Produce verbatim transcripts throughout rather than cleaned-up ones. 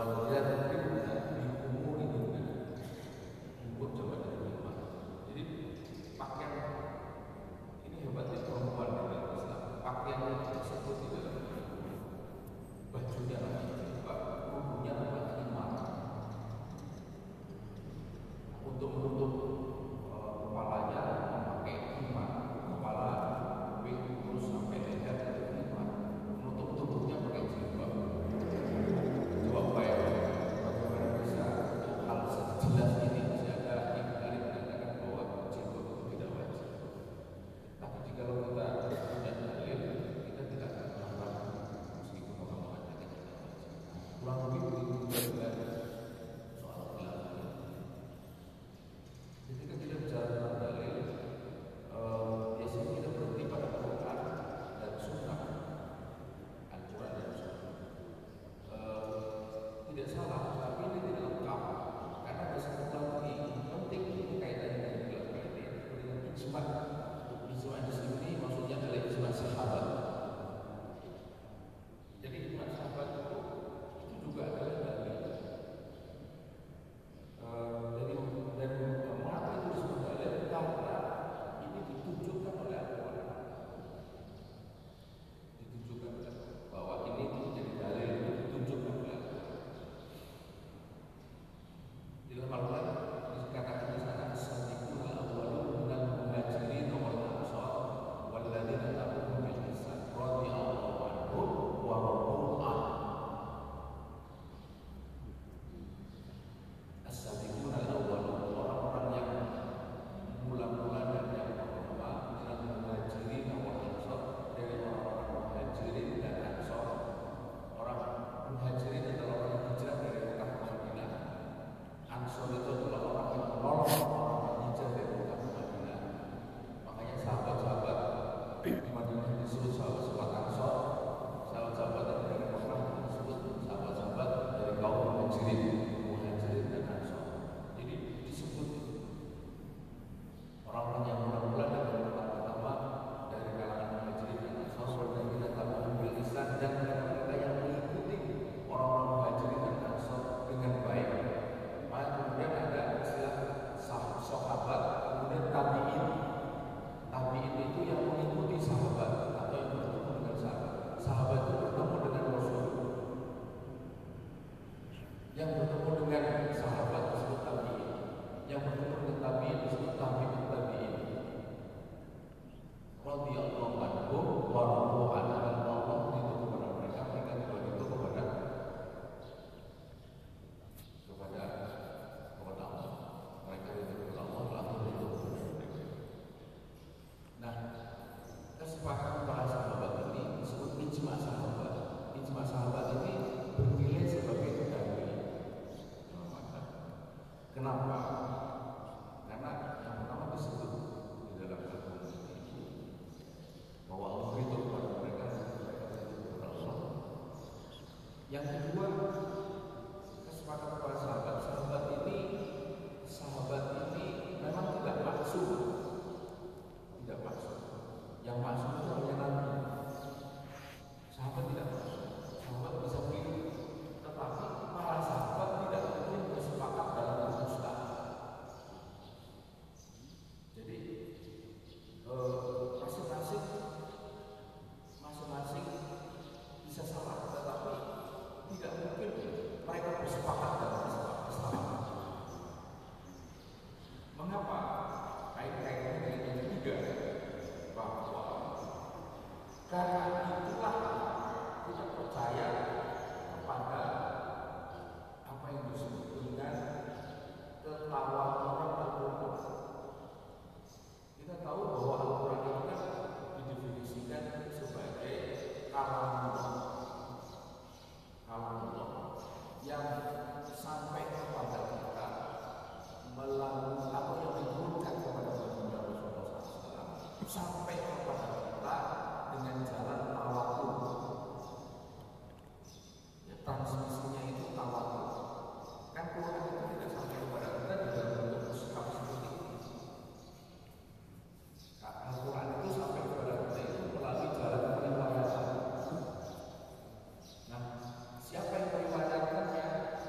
Siapa yang meriwayatkannya?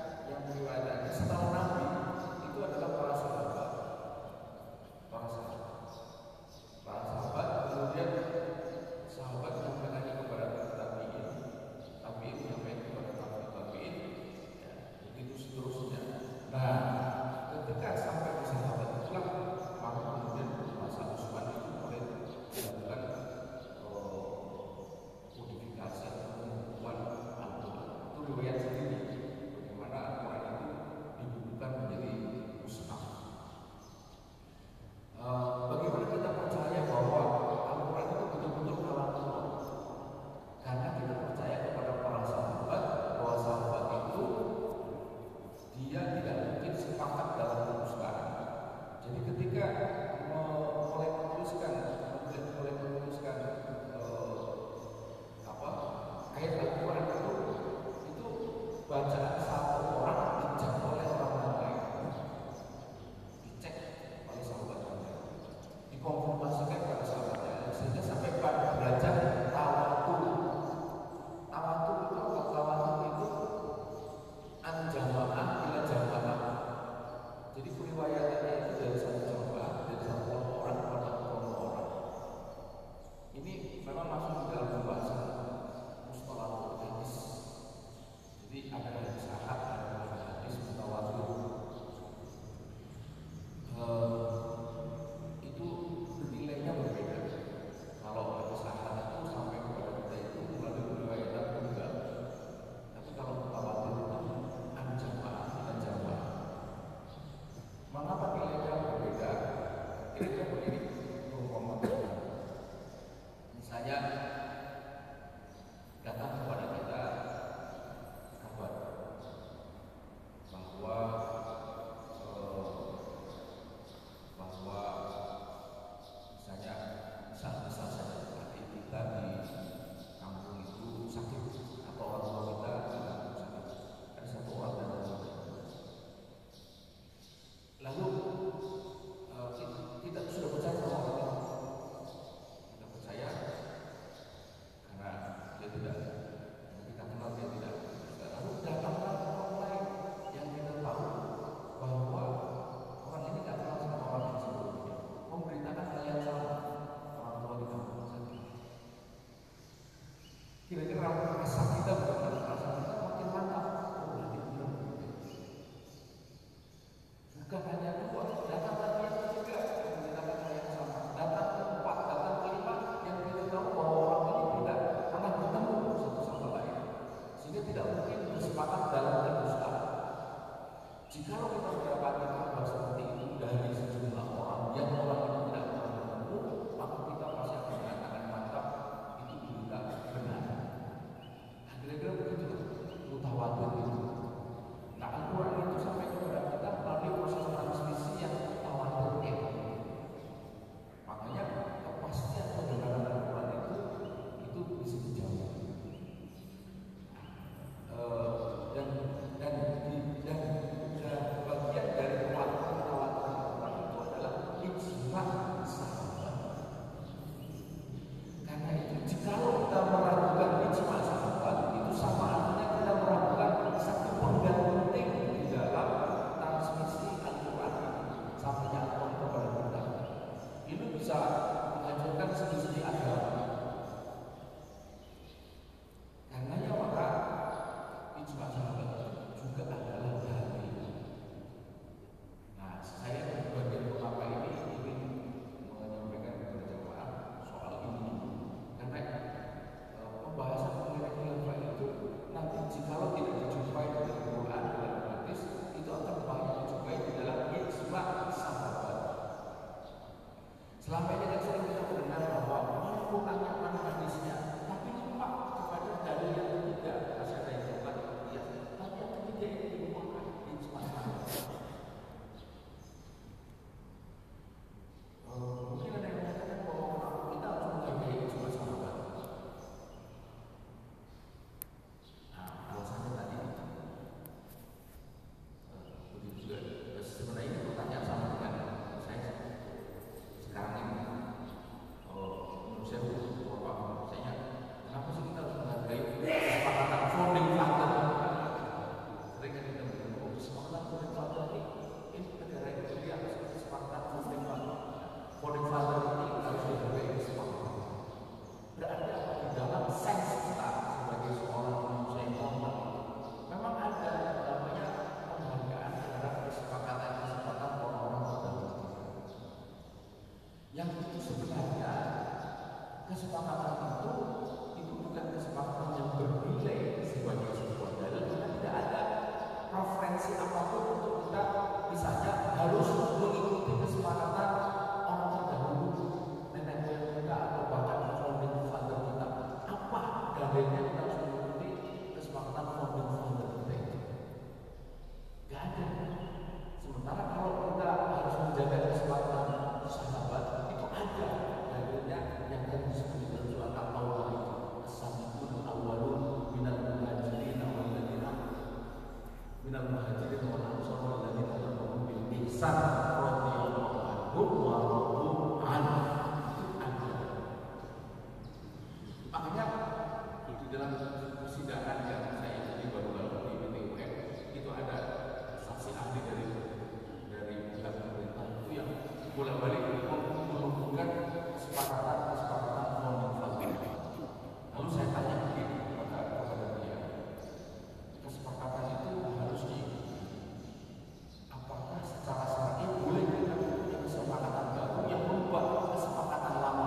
frekuensi apapun untuk kita misalnya harus mengikuti kesepakatan orang terdahulu, nenek moyang kita atau bahkan founding father kita. Apa dalilnya kita harus mengikuti kesepakatan founding father kita itu? Gak ada. Sementara kalau kita harus menjaga kesepakatan sahabat itu ada dalilnya yang tadi disebut dalam surat At-Taubah itu. As-sabiqun awwalun minal muhajirin wal ladzina minal muhajirin wal ansar wal ladzina tabauhum bil ihsan radhiyallahu anhum wa radu anhu. Itu ada. Makanya di dalam persidangan yang saya ikuti baru-baru di B T U M itu ada saksi ahli dari dari pihak pemerintah itu yang bolak-balik menghubungkan kesepakatan-kesepakatan founding father. Lalu saya tanya begini kepada kepada dia, kesepakatan itu harus diikuti. Apakah secara syar'i boleh kita punya kesepakatan baru yang merubah kesepakatan lama?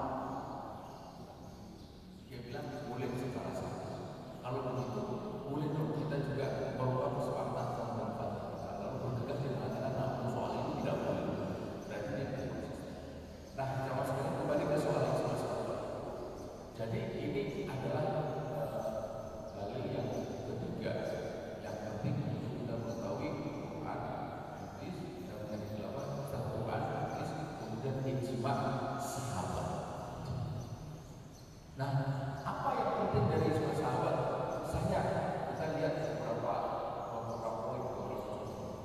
Dia bilang boleh secara syar'i. Kalau begitu, boleh dong kita juga merubah kesepakatan founding father. Lalu berdekat dia mengatakan, nah soal ini tidak boleh. Berarti dia tidak konsisten. Nah, jawab sekarang kembali ke soal yang semasa. Jadi ini adalah dalil uh, yang ketiga yang penting untuk kita mengetahui Quran, hadis, kita mengenai apa? Quran, hadis, kemudian ijma sahabat. Nah, apa yang penting dari ijma sahabat? Misalnya kita lihat beberapa beberapa poin beberapa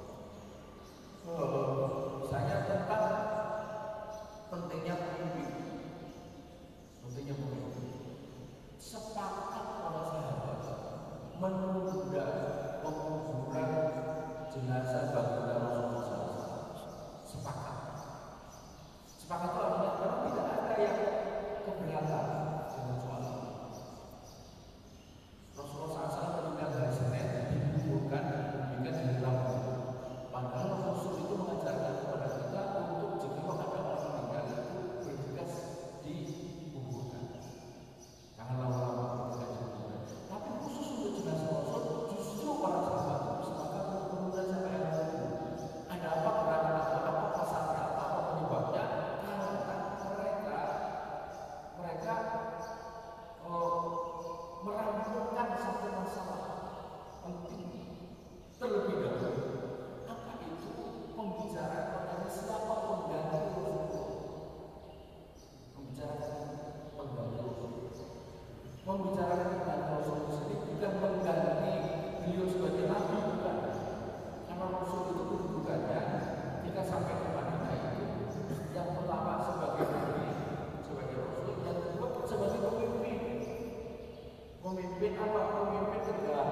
uh, misalnya tentang pentingnya pemimpin, pentingnya pemimpin. Sepakat para sahabat menunda penguburan jenazah baginda Rasulullah shallallahu alaihi wasallam. Sepakat. Sepakat itu artinya memang tidak ada yang keberatan dengan soal ini. Rasulullah shallallahu alaihi wasallam meninggal hari Senin dikuburkan dikuburkan hari Rabu. Padahal Rasul itu mengajarkan kepada kita untuk jika ada orang meninggal itu bergegas dikuburkan. Jangan lama-lama bergegas dikuburkan. Tapi khusus untuk jenazah Rasul, justru para sahabat itu sepakat untuk menunda sampai hari Rabu. Ada apa kerangan atau apa pasalnya apa apa penyebabnya? Karena mereka mereka oh, merampungkan satu masalah penting terlebih dahulu. Apa itu? Pembicaraan mengenai siapa pengganti Rasulullah. Membicarakan pengganti Rasulullah. Membicarakan pengganti Rasulullah sendiri bukan mengganti beliau sebagai nabi, bukan. Karena Rasul itu kedudukannya jika sampai ke Madinah itu yang pertama sebagai nabi, sebagai Rasul, yang kedua sebagai pemimpin. Pemimpin apa? Pemimpin negara.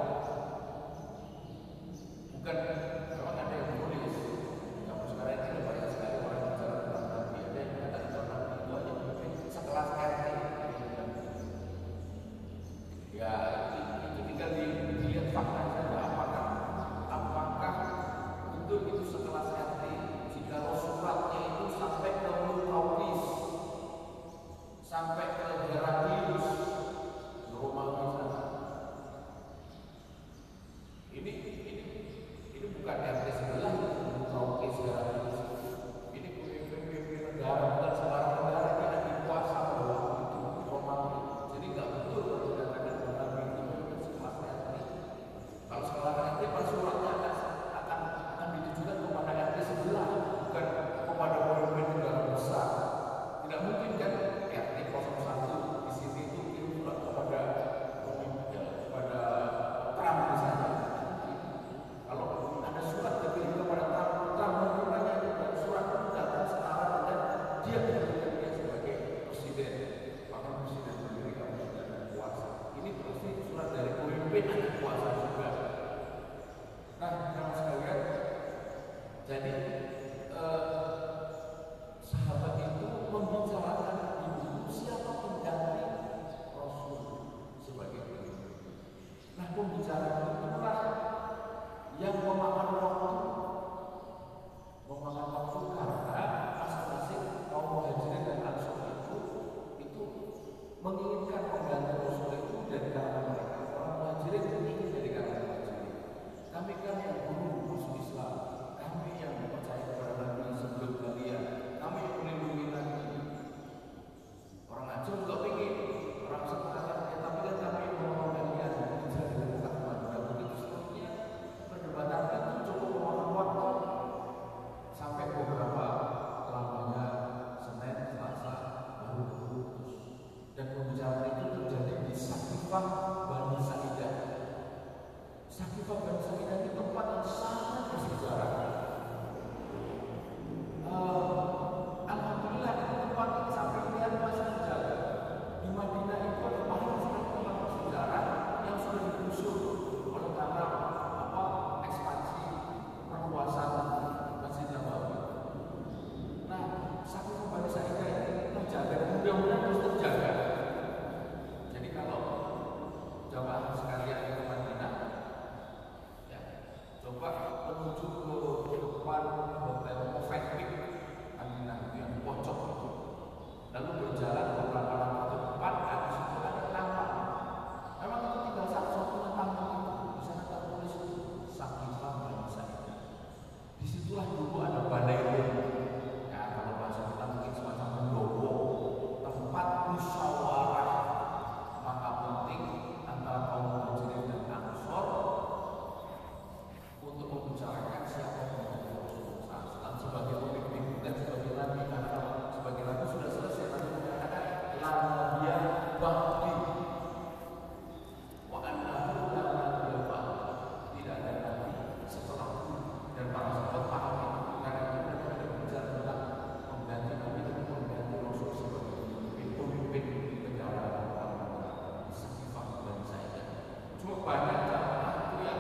Bukan memang ada yang menulis. Kamu sekarang ini banyak sekali orang bicara tentang nabi. Ada yang mengatakan bahwa nabi itu hanya pemimpin sekelas R T. Ya, itu tinggal dilihat fakta saja. Apakah apakah betul itu sekelas R T? Jika suratnya itu sampai ke Muqawqis, sampai ke Heraklius, Romawi sana. Ini ini ini bukan R T sebelah, Muqawqis Heraklius. Ini pemimpin-pemimpin negara, bukan sembarang negara yang ada kuasa bahwa itu Romawi. Jadi nggak betul kalau dikatakan bahwa Nabi itu pemimpin sekelas R T. Kalau sekelas R T, pada suratnya akan akan akan ditujukan kepada R T sebelah, bukan kepada pemimpin negara besar. Tidak mungkin kan R T nol satu di sini itu kirim surat kepada pemimpin, ya, kepada Trump misalnya. Kalau ada surat terkirim kepada Trump, Trump menerimanya dan surat itu datang setara dengan dia menjadikan dia sebagai presiden, bahkan presiden Amerika, presiden kuasa. Ini pasti surat dari pemimpin ada kuasa juga. Nah, teman sekalian, jadi eh, sahabat itu membicarakan di buku siapa pengganti Rasul sebagai pemimpin. Nah, pembicaraan itulah yang memakan waktu, memakan waktu karena masing-masing kaum muhajirin dan ansor itu itu menginginkan pengganti Rasul itu dari kalangan mereka. Orang muhajirin ingin dari kalangan muhajirin. Kami kan yang dulu coba menuju ke depan hotel Movenpick Aminah itu yang pojok itu, lalu berjalan beberapa langkah ke depan, habis itu ada taman. Memang itu tinggal satu-satunya taman itu, di sana tertulis Sakifah Bani Sa'idah. Disitulah dulu ada balai rum. Ya, kalau bahasa kita mungkin semacam pendopo, tempat musyawarah maka penting antara kaum muhajirin dan ansor untuk membicarakan siapa yang menjadi Rasulullah shallallahu alaihi wasallam sebagai pemimpin dan sebagai nabi. Karena sebagai nabi sudah selesai, nabi mengatakan lanabiyah ba'di wa annahu la nabiyya ba'di, tidak ada nabi setelahku. Dan para sahabat paham itu, karena itu mereka ada bicara tentang mengganti nabi dan mengganti Rasul sebagai pemimpin negara di Sakifah Bani Sa'idah. Cuma banyak jamaah itu yang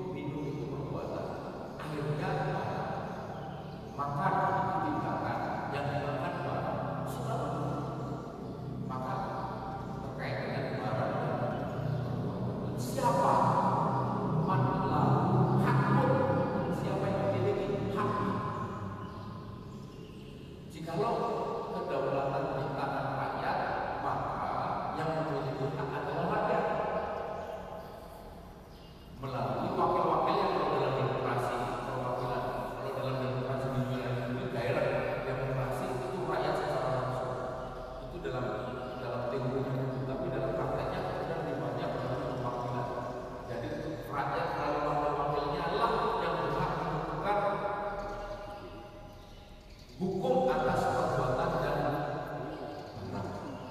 makan itu tindakan, kalau kedaulatan di tangan rakyat, maka yang memiliki hak adalah rakyat melalui wakil-wakil yang kalau dalam demokrasi perwakilan, kalau dalam demokrasi di dunia ini daerah demokrasi itu rakyat secara langsung itu dalam dalam teorinya itu, tapi dalam prakteknya kemudian lebih banyak melalui perwakilan. Jadi rakyat melalui wakil-wakilnya lah yang berhak menentukan hukum atas perbuatan dan benar.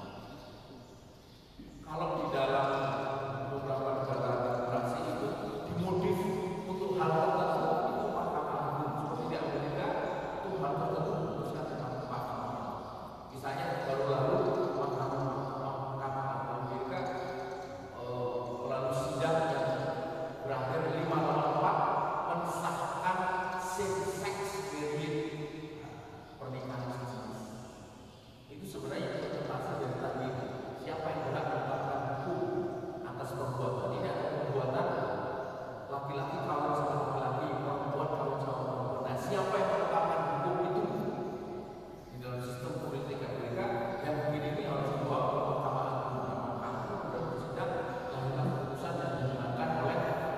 Kalau di dalam beberapa negara demokrasi itu dimodif untuk hal tertentu itu mahkamah agung. Seperti di Amerika itu hal tertentu memutuskan dengan mahkamah. Misalnya baru lalu mahkamah mahkamah agung Amerika eh, melalui sidang yang berakhir lima lawan empat mensahkan same-sex marriage, pernikahan sesama. Itu sebenarnya interpretasi dari tadi siapa yang berhak menetapkan hukum atas perbuatan ini adalah perbuatan laki-laki kawin sama laki-laki, perempuan kawin sama perempuan. Nah, siapa yang menetapkan hukum itu di dalam sistem politik Amerika yang begini ini harus dibawa ke mahkamah agung. Mahkamah agung sudah bersidang lahirlah keputusan yang dimenangkan oleh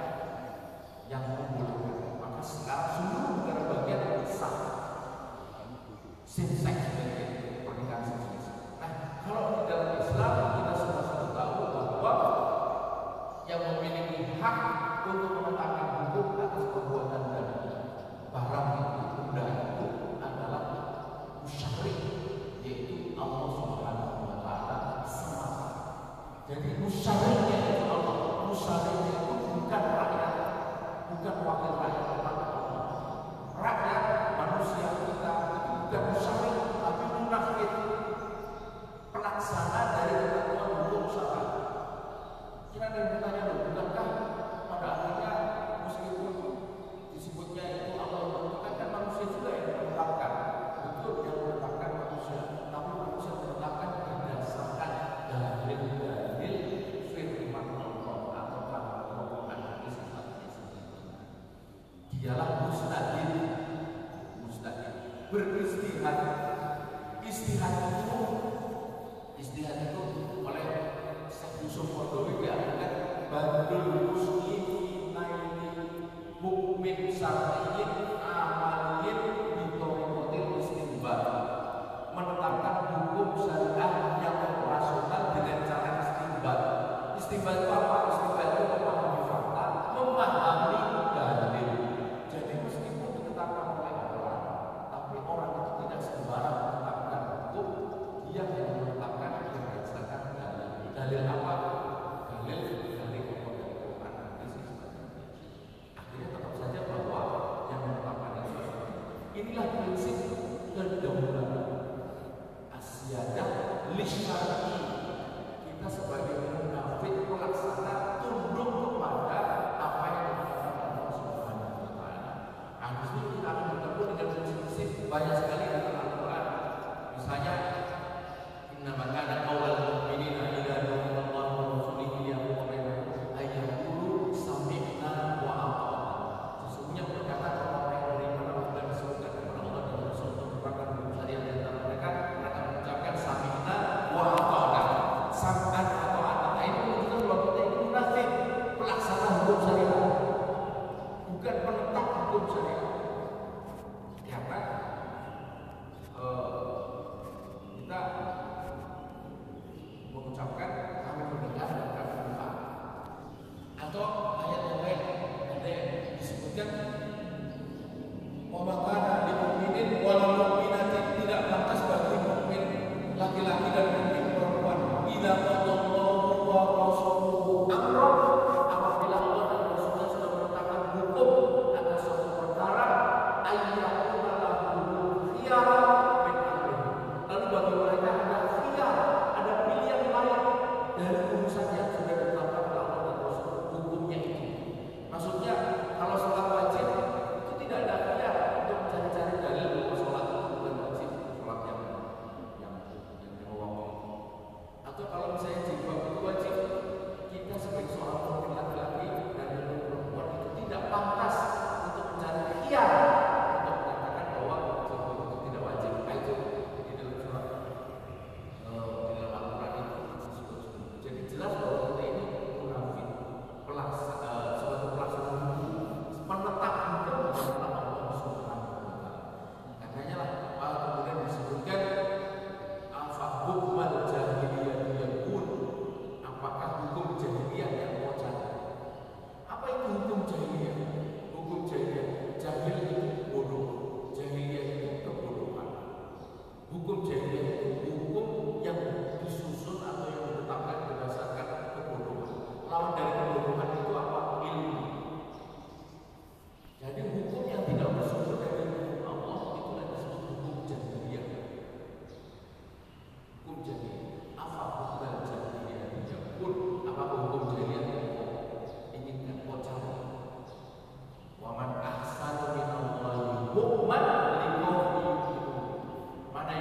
yang membolehkan. Maka sekarang seluruh negara bagian sah same-sex marriage, pernikahan sesama. Nah, kalau di dalam Islam kita semua sudah tahu bahwa yang memiliki hak untuk menetapkan hukum atas perbuatan dan barang itu, benda itu adalah musyrik, yaitu Allah Subhanahu wa Ta'ala semata. Jadi musyariknya itu Allah, musyariknya itu bukan rakyat, bukan wakil rakyat, tetapi Allah. Rakyat manusia kita itu bukan musyarik, tapi munafik, pelaksana dari ketentuan hukum syara. Kira ada yang bertanya, loh, bukankah pada akhirnya meskipun disebutnya itu Allah yang menentukan, kan manusia juga yang menetapkan. Betul, yang menetapkan manusia, tapi manusia menetapkan berdasarkan dalil-dalil firman Allah atau Al-Quran hadis sifatnya sendiri. Dialah mustahil, mustahil beristihad. Istihad itu, istihad itu oleh Syekh Yusuf Qaradawi diartikan badul muslimina ini mukmin syar'iyyin amaliyin bitorikotil istinbat, menetapkan hukum syariah yang operasional dengan cara istinbat. Istinbat itu apa? Istinbat itu memahami fakta, memahami dalil. Jadi meskipun ditetapkan oleh orang, tapi orang itu tidak sembarang menetapkan hukum, dia yang menetapkan berdasarkan dalil. Dalil apa? Dalil dari Al-Quran. Akhirnya tetap saja bahwa yang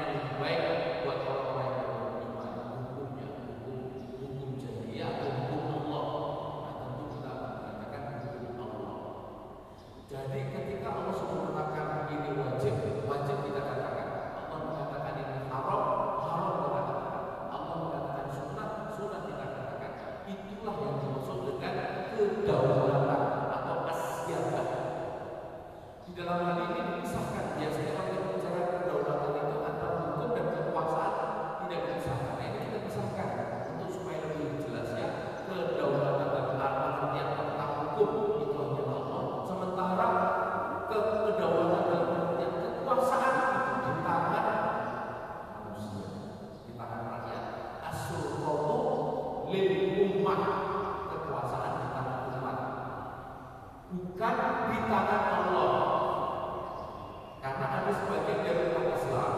lebih baik buat orang-orang yang beriman, hukumnya hukum hukum jahiliyah atau hukum Allah. Nah, tentu kita mengatakan hukum Allah. Jadi ketika Allah sudah mengatakan ini wajib, wajib kita katakan. Allah mengatakan ini haram, haram kita katakan. Allah mengatakan sunnah, sunnah kita katakan. Itulah yang dimaksud dengan kedaulatan atau asyabah. Di dalam hal ini dipisahkan. Biasanya kalau kita bicara kedaulatan itu antara hukum dan kekuasaan tidak dipisahkan. Nah, ini kita pisahkan untuk supaya lebih jelas ya. Kedaulatan dan artian tentang hukum itu hanya Allah. Sementara ke kedaulatan dalam artian kekuasaan itu di tangan manusia, di tangan rakyat. As-sultatu lil ummah, kekuasaan di tangan umat, bukan di tangan Allah. Karena ada sebagian dari umat Islam,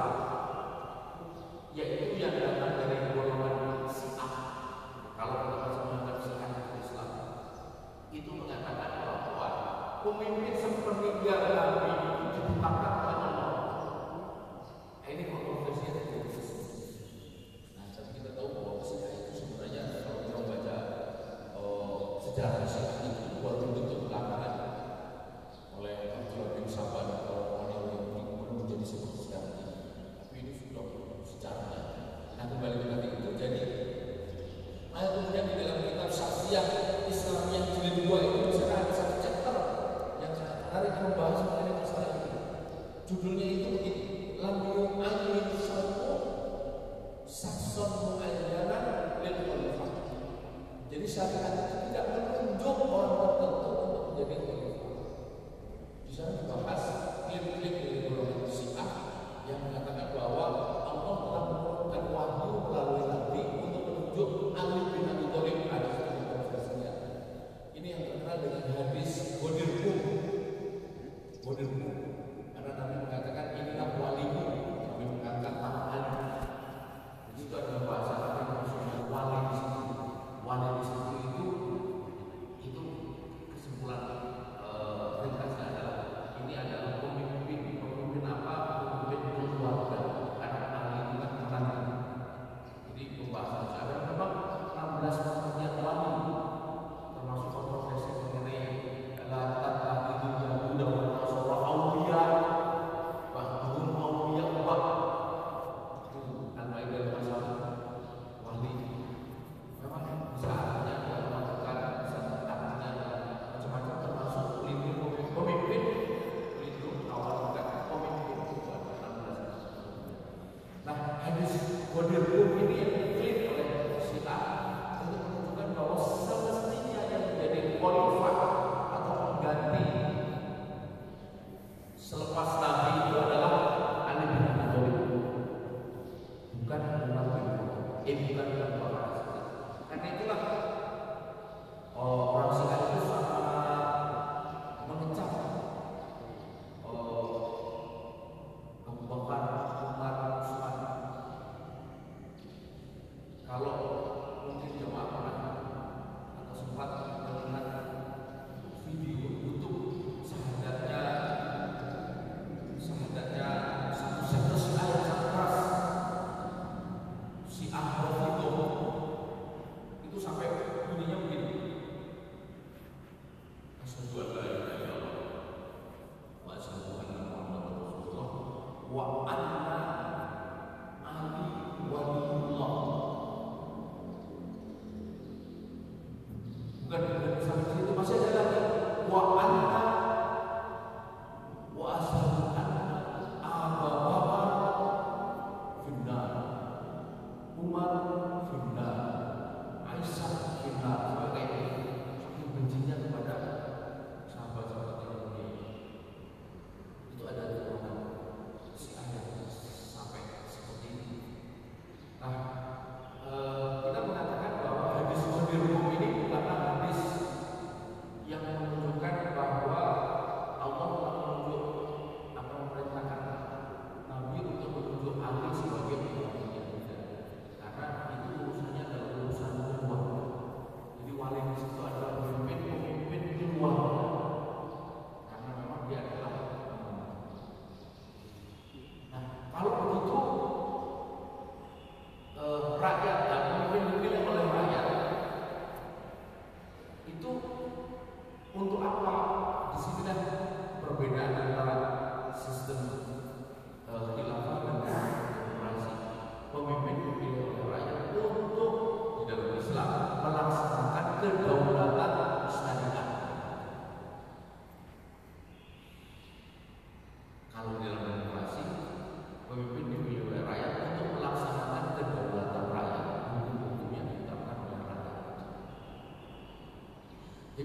yaitu yang datang dari golongan Syiah. Kalau kita masih menganggap Syiah itu Islam, itu mengatakan bahwa pemimpin sepertiga Nabi itu ditetapkan oleh Allah. Nah, ini kontroversinya terjadi. Nah, tapi kita tahu bahwa Syiah itu sebenarnya kalau kita baca oh, sejarah Syiah itu baru dibentuk belakangan oleh Abdullah bin Saba dan kawan-kawan yang menjadi seperti sekarang ini. Tapi ini sudah sejarahnya. Nah, kembali ke tadi itu jadi. Nah, kemudian di dalam kitab Syakhsiyah Islam yang jilid dua itu misalnya ada satu chapter yang sangat menarik membahas mengenai masalah ini. Judulnya itu begini: Lam yu'ayyin syar'u sakson mu'ayyanan lil khalifah. Jadi syariat itu tidak menunjuk orang tertentu untuk menjadi khalifah. Di sana dibahas klaim-klaim dari golongan Syiah yang mengatakan bahwa Allah telah menurunkan wahyu melalui Nabi untuk menunjuk Ali bin Abi Thalib. Ada satu versinya. Ini yang terkenal dengan hadis Ghadir-Qum. Ghadir-Qum. Karena Nabi mengatakan inilah walimu. Nabi mengangkat nama Ali. Jadi itu adalah bahasa Arab yang maksudnya wali di situ. Wali di situ itu itu kesimpulan uh, ringkasnya adalah ini adalah pemimpin, pemimpin apa? Pemimpin keluarga. Karena Ali itu kan petani. Jadi pembahasan ada memang enam belas pengertian wali, termasuk kontroversi mengenai latar lagi dunia Buddha dan Nasrani Aulia, bahkan Aulia ubah kan baik dari masalah wali. Memang bisa artinya adalah melakukan, bisa artinya adalah macam-macam termasuk pelindung pemimpin, pelindung awal bukan pemimpin itu ada enam belas. Nah, hadis Ghadir-Qum ini yang diklaim oleh Syiah untuk menunjukkan bahwa semestinya yang menjadi khalifah atau pengganti selepas Nabi itu adalah Ali bin Abi Thalib, bukan Umar bin Khattab, eh bukan Abu Bakar. Karena itulah oh, orang Syiah itu sangat mengecam oh, Abu Bakar, Umar, Utsman. Kalau mungkin jemaah pernah atau sempat melihat video YouTube sahadatnya sahadatnya satu sektor Syiah yang sangat keras, Syiah Rafidhah, itu sampai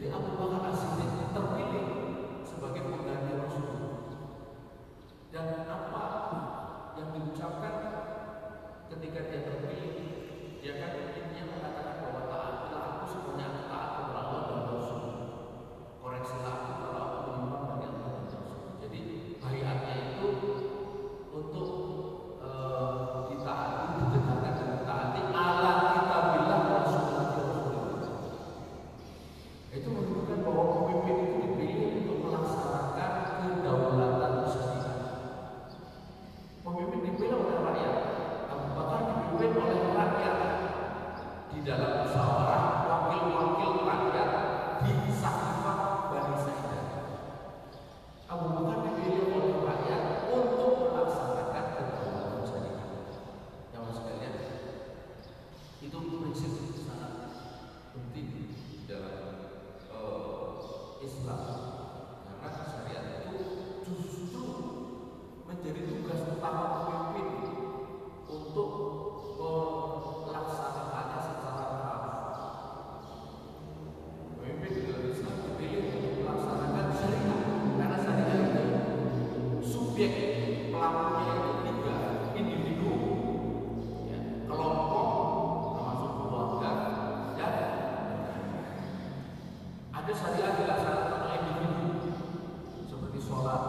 Jadi Abu Bakar As-Siddiq terpilih sebagai pengganti Rasul. Dan apa yang diucapkan ketika dia terpilih? Dia kan intinya mengatakan bahwa taatilah aku semuanya taat kepada Allah dan Rasul. Koreksilah aku kalau aku menyimpang dari Allah dan Rasul. Jadi bayatnya itu untuk uh, ditaati, ditegakkan dan ditaati ala kita bilang Rasulullah Rasulullah. Itu menunjukkan bahwa pemimpin itu dipilih untuk melaksanakan kedaulatan syariat. Pemimpin dipilih oleh rakyat. Abu Bakar dipimpin oleh rakyat di dalam musyawarah wakil-wakil rakyat di Saqifah Bani Sa'idah. Abu Bakar dipilih oleh rakyat untuk melaksanakan kedaulatan syariat. Yang sekalian, itu prinsip sangat penting di dalam uh, Islam, karena syariat itu justru menjadi tugas utama pemimpin untuk melaksanakannya secara kafah. Pemimpin di dalam Islam dipilih untuk melaksanakan syariat, karena syariat itu subjek pelakunya itu tiga, individu, ya, kelompok, termasuk keluarga, dan ada syariat dilaksanakan oleh individu seperti sholat,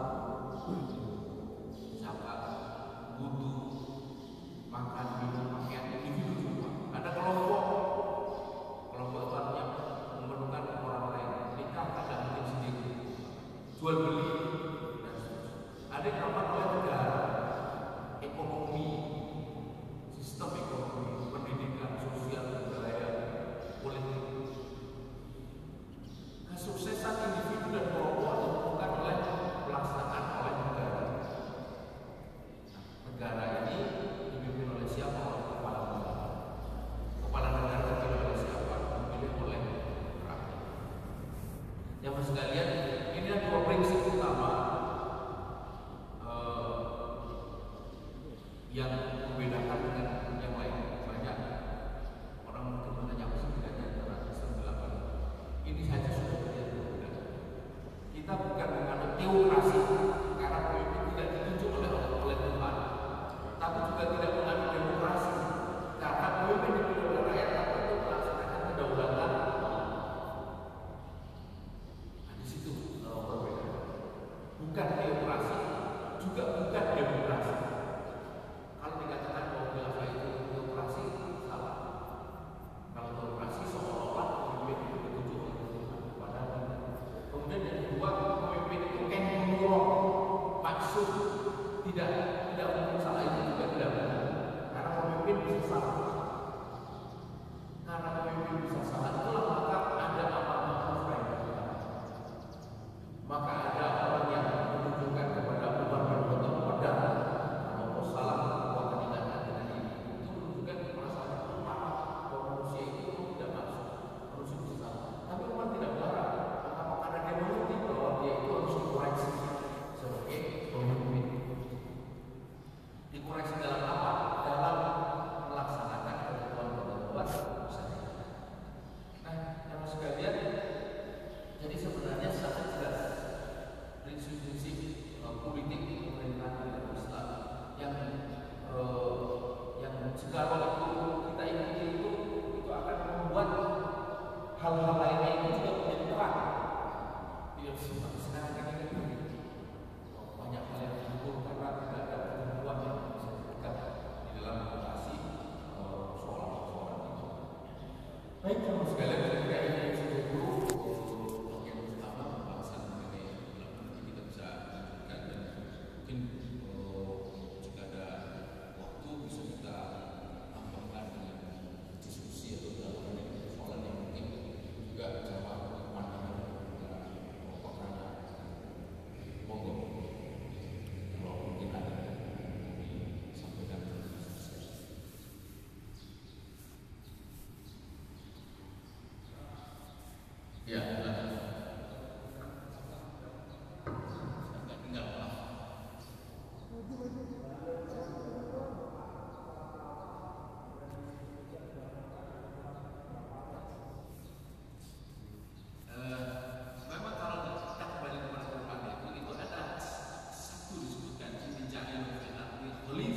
zakat, wudu, makan, minum, pakaian, individu semua. Ada kelompok, kelompok itu artinya memerlukan orang lain, nikah tidak mungkin sendiri, jual beli, dan seterusnya. Ada yang nampak oleh negara, ekonomi, sistem ekonomi, pendidikan, sosial, budaya, politik. Kesuksesan individu dan kelompok ditentukan oleh pelaksanaan oleh negara. Negara ini dipimpin oleh siapa? Oleh kepala negara. Kepala negara dipilih oleh siapa? Dipilih oleh rakyat. Yang sekalian, ini ada dua prinsip utama eh, yang membedakan dengan yang lain. Banyak orang mungkin menanya apa sih bedanya antara Islam dan Islam. Ini saja sudah terlihat berbeda. Kita bukan menganut teokrasi karena pemimpin tidak ditunjuk oleh oleh Tuhan, tapi juga tidak menganut demokrasi karena pemimpin dipilih oleh rakyat tapi untuk melaksanakan kedaulatan. Nah, di situ uh, perbedaan. Bukan teokrasi, juga bukan demokrasi. Kalau dikatakan bahwa khilafah itu teokrasi, salah. Kalau teokrasi seolah-olah pemimpin itu ditunjuk oleh Tuhan, padahal tidak. Kemudian yang kedua, pemimpin itu kan menolong, maksud tidak tidak mungkin salah, itu juga tidak benar. Karena pemimpin bisa salah. Karena pemimpin bisa salah, itulah maka ada amar ma'ruf nahi munkar. Maka ada orang yang menunjukkan kepada Umar bin Khattab pedang, kalau salah perbuatan tindakan dengan ini, itu menunjukkan perasaan umat bahwa manusia itu tidak masuk, manusia bisa salah. Tapi umat tidak melarang. Kenapa? Karena dia mengerti bahwa dia itu harus dikoreksi sebagai pemimpin. Dikoreksi dalam apa? Dalam melaksanakan ketentuan-ketentuan syariat. Nah, yang sekalian, jadi sebenarnya sangat jelas prinsip-prinsip uh, politik pemerintahan dalam Islam yang uh, yang jika itu kita ikuti itu itu akan membuat hal-hal lainnya itu juga menjadi terang. Tidak seperti sekarang ini kan banyak hal yang diukur karena tidak ada ketentuan yang bisa diberikan di dalam mengatasi uh, soal-soal itu. Baik, teman sekalian, ketika ini sudah dulu bagian pertama pembahasan mengenai nanti kita bisa lanjutkan dan mungkin uh, jika ada waktu bisa kita tambahkan dengan diskusi atau dalam persoalan yang mungkin juga jawab pandangan pokoknya monggo kalau mungkin ada disampaikan. Ya.